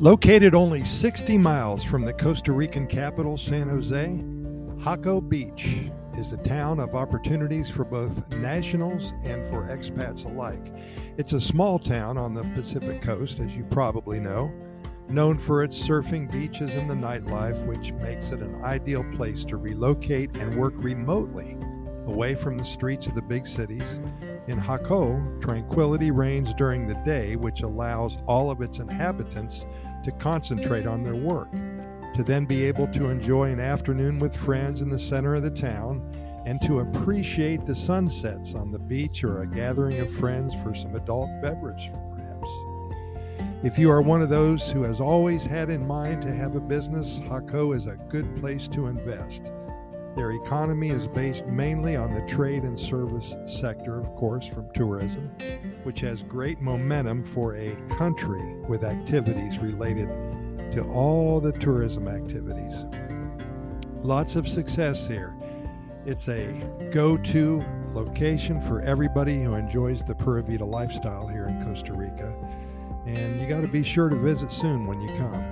Located only 60 miles from the Costa Rican capital, San Jose, Jaco Beach is a town of opportunities for both nationals and for expats alike. It's a small town on the Pacific coast, as you probably know, known for its surfing beaches and the nightlife, which makes it an ideal place to relocate and work remotely away from the streets of the big cities. In Jaco, tranquility reigns during the day, which allows all of its inhabitants to concentrate on their work, to then be able to enjoy an afternoon with friends in the center of the town, and to appreciate the sunsets on the beach or a gathering of friends for some adult beverage, perhaps. If you are one of those who has always had in mind to have a business, Jaco is a good place to invest. Their economy is based mainly on the trade and service sector, of course, from tourism, which has great momentum for a country with activities related to all the tourism activities. Lots of success here. It's a go-to location for everybody who enjoys the Pura Vida lifestyle here in Costa Rica, and you got to be sure to visit soon when you come.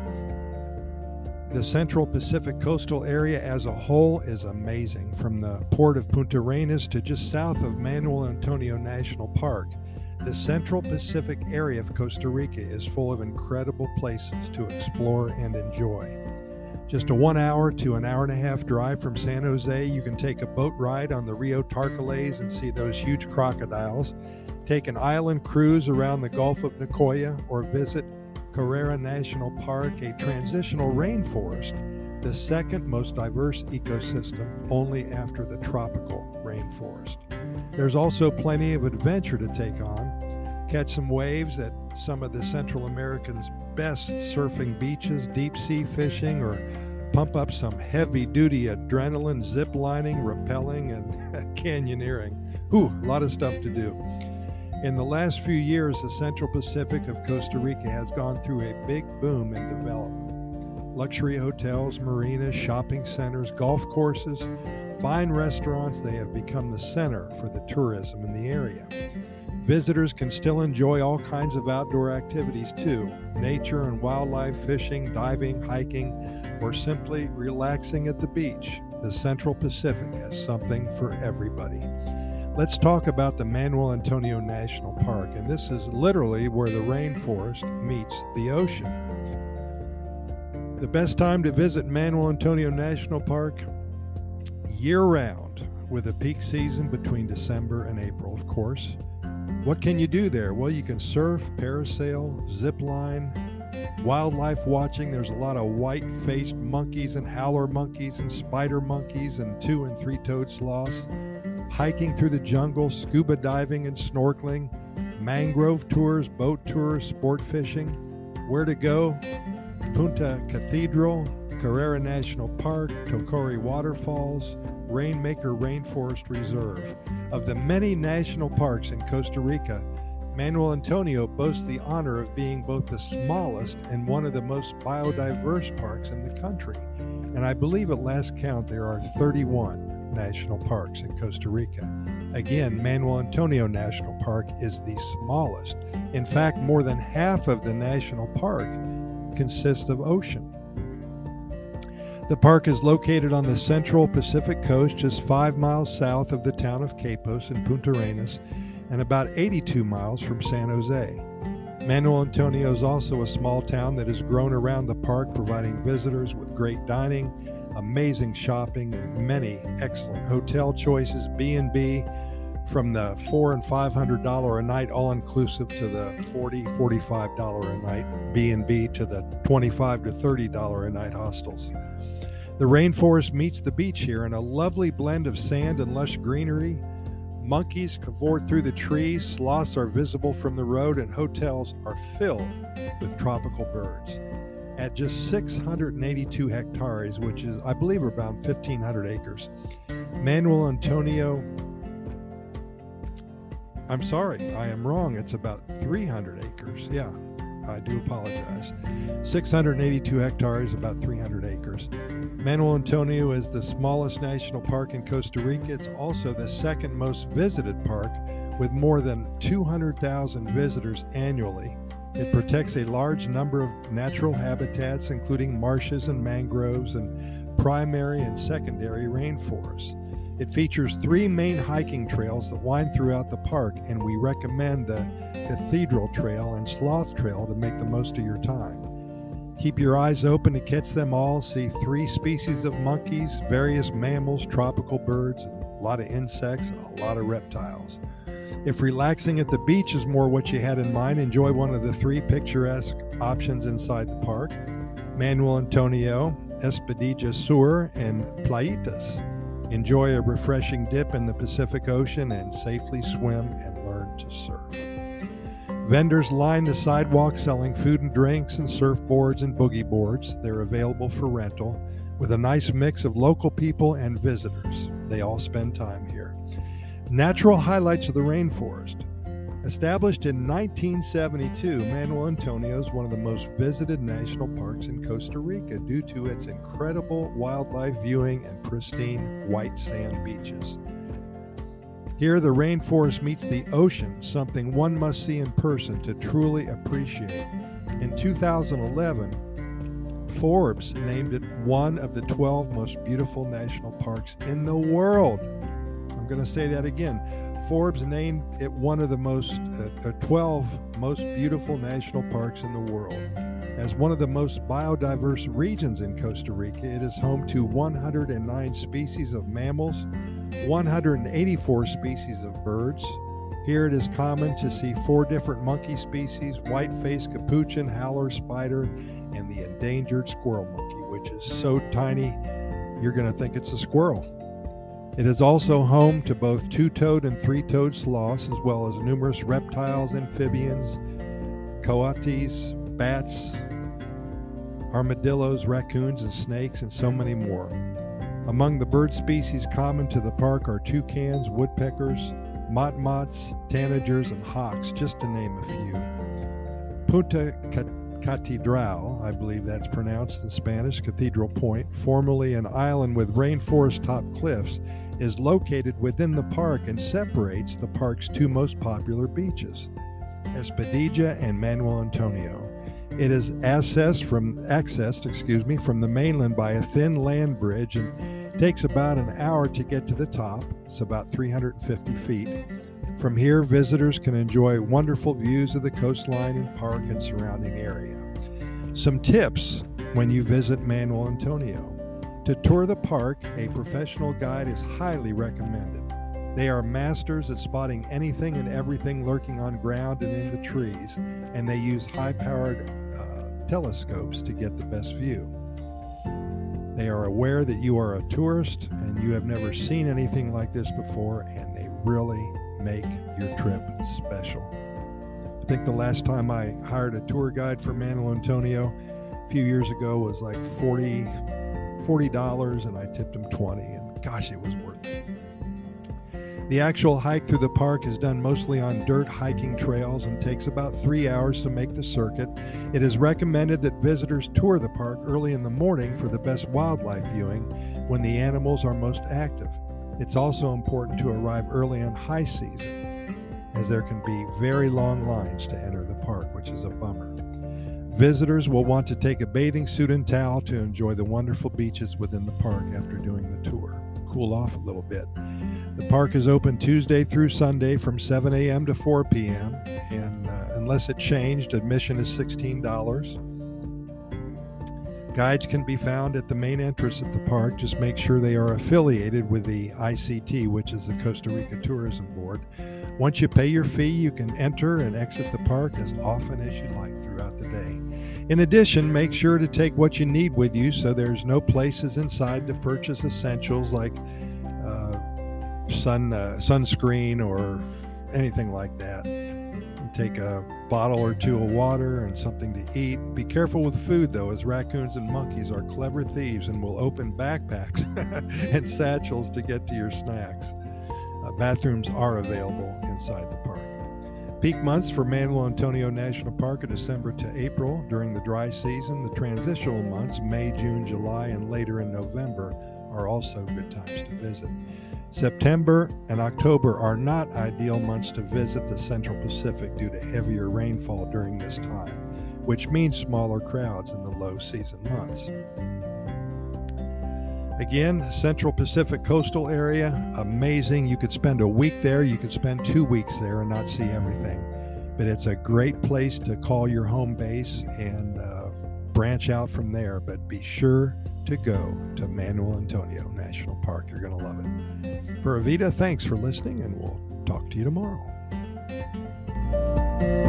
The Central Pacific coastal area as a whole is amazing, from the port of Punta Arenas to just south of Manuel Antonio National Park. The Central Pacific area of Costa Rica is full of incredible places to explore and enjoy. Just a 1 hour to an hour and a half drive from San Jose, you can take a boat ride on the Rio Tarcoles and see those huge crocodiles, take an island cruise around the Gulf of Nicoya, or visit Carrera National Park, a transitional rainforest, the second most diverse ecosystem only after the tropical rainforest. There's also plenty of adventure to take on. Catch some waves at some of the Central America's best surfing beaches, deep sea fishing, or pump up some heavy-duty adrenaline, zip lining, rappelling, and canyoneering. Ooh, a lot of stuff to do. In the last few years, the Central Pacific of Costa Rica has gone through a big boom in development. Luxury hotels, marinas, shopping centers, golf courses, fine restaurants, they have become the center for the tourism in the area. Visitors can still enjoy all kinds of outdoor activities too: nature and wildlife, fishing, diving, hiking, or simply relaxing at the beach. The Central Pacific has something for everybody. Let's talk about the Manuel Antonio National Park, and this is literally where the rainforest meets the ocean. The best time to visit Manuel Antonio National Park? Year-round, with a peak season between December and April, of course. What can you do there? Well, you can surf, parasail, zip line, wildlife watching. There's a lot of white-faced monkeys and howler monkeys and spider monkeys and 2- and 3-toed sloths. Hiking through the jungle, scuba diving and snorkeling, mangrove tours, boat tours, sport fishing. Where to go? Punta Cathedral, Carrera National Park, Tocori Waterfalls, Rainmaker Rainforest Reserve. Of the many national parks in Costa Rica, Manuel Antonio boasts the honor of being both the smallest and one of the most biodiverse parks in the country. And I believe at last count there are 31 national parks in Costa Rica. Again, Manuel Antonio National Park is the smallest. In fact, more than half of the national park consists of ocean. The park is located on the Central Pacific coast, just 5 miles south of the town of Quepos in Punta Arenas, and about 82 miles from San Jose. Manuel Antonio is also a small town that has grown around the park, providing visitors with great dining, amazing shopping, and many excellent hotel choices. B&B, from the $400 and $500 a night all-inclusive to the $40, $45 a night B&B, to the $25 to $30 a night hostels. The rainforest meets the beach here in a lovely blend of sand and lush greenery. Monkeys cavort through the trees, sloths are visible from the road, and hotels are filled with tropical birds. At just 682 hectares, which is, I believe, about 1,500 acres, Manuel Antonio, I'm sorry, I am wrong. It's about 300 acres. Yeah, I do apologize. 682 hectares, about 300 acres. Manuel Antonio is the smallest national park in Costa Rica. It's also the second most visited park, with more than 200,000 visitors annually It protects a large number of natural habitats, including marshes and mangroves and primary and secondary rainforests. It features 3 main hiking trails that wind throughout the park, and we recommend the Cathedral Trail and Sloth Trail to make the most of your time. Keep your eyes open to catch them all. See 3 species of monkeys, various mammals, tropical birds, and a lot of insects, and a lot of reptiles. If relaxing at the beach is more what you had in mind, enjoy one of the 3 picturesque options inside the park: Manuel Antonio, Espadilla Sur, and Playitas. Enjoy a refreshing dip in the Pacific Ocean and safely swim and learn to surf. Vendors line the sidewalk selling food and drinks and surfboards and boogie boards. They're available for rental with a nice mix of local people and visitors. They all spend time here. Natural highlights of the rainforest. Established in 1972, Manuel Antonio is one of the most visited national parks in Costa Rica due to its incredible wildlife viewing and pristine white sand beaches. Here, the rainforest meets the ocean, something one must see in person to truly appreciate. In 2011, Forbes named it one of the 12 most beautiful national parks in the world. I'm going to say that again. Forbes named it one of the 12 most beautiful national parks in the world. As one of the most biodiverse regions in Costa Rica, it is home to 109 species of mammals, 184 species of birds. Here it is common to see 4 different monkey species: white-faced capuchin, howler spider, and the endangered squirrel monkey, which is so tiny you're going to think it's a squirrel. It is also home to both 2-toed and 3-toed sloths, as well as numerous reptiles, amphibians, coatis, bats, armadillos, raccoons, and snakes, and so many more. Among the bird species common to the park are toucans, woodpeckers, motmots, tanagers, and hawks, just to name a few. Punta Catedral, I believe that's pronounced in Spanish, Cathedral Point, formerly an island with rainforest-top cliffs, is located within the park and separates the park's 2 most popular beaches, Espadilla and Manuel Antonio. It is accessed from the mainland by a thin land bridge and takes about an hour to get to the top. It's about 350 feet. From here, visitors can enjoy wonderful views of the coastline and park and surrounding area. Some tips when you visit Manuel Antonio. To tour the park, a professional guide is highly recommended. They are masters at spotting anything and everything lurking on ground and in the trees, and they use high-powered telescopes to get the best view. They are aware that you are a tourist and you have never seen anything like this before, and they really make your trip special. I think the last time I hired a tour guide for Manuel Antonio a few years ago was like $40, and I tipped him $20, and gosh, it was worth it. The actual hike through the park is done mostly on dirt hiking trails and takes about 3 hours to make the circuit. It is recommended that visitors tour the park early in the morning for the best wildlife viewing when the animals are most active. It's also important to arrive early on high season, as there can be very long lines to enter the park, which is a bummer. Visitors will want to take a bathing suit and towel to enjoy the wonderful beaches within the park after doing the tour. Cool off a little bit. The park is open Tuesday through Sunday from 7 a.m. to 4 p.m. and unless it changed, admission is $16. Guides can be found at the main entrance at the park. Just make sure they are affiliated with the ICT, which is the Costa Rica Tourism Board. Once you pay your fee, you can enter and exit the park as often as you like throughout the day. In addition, make sure to take what you need with you so there's no places inside to purchase essentials like sunscreen or anything like that. Take a bottle or 2 of water and something to eat. Be careful with food, though, as raccoons and monkeys are clever thieves and will open backpacks and satchels to get to your snacks. Bathrooms are available inside the park. Peak months for Manuel Antonio National Park are December to April. During the dry season, the transitional months, May, June, July, and later in November, are also good times to visit. September and October are not ideal months to visit the Central Pacific due to heavier rainfall during this time, which means smaller crowds in the low season months. Again, Central Pacific coastal area, amazing. You could spend a week there, you could spend 2 weeks there and not see everything. But it's a great place to call your home base and branch out from there. But be sure to go to Manuel Antonio National Park. You're going to love it. For Avita, thanks for listening, and we'll talk to you tomorrow.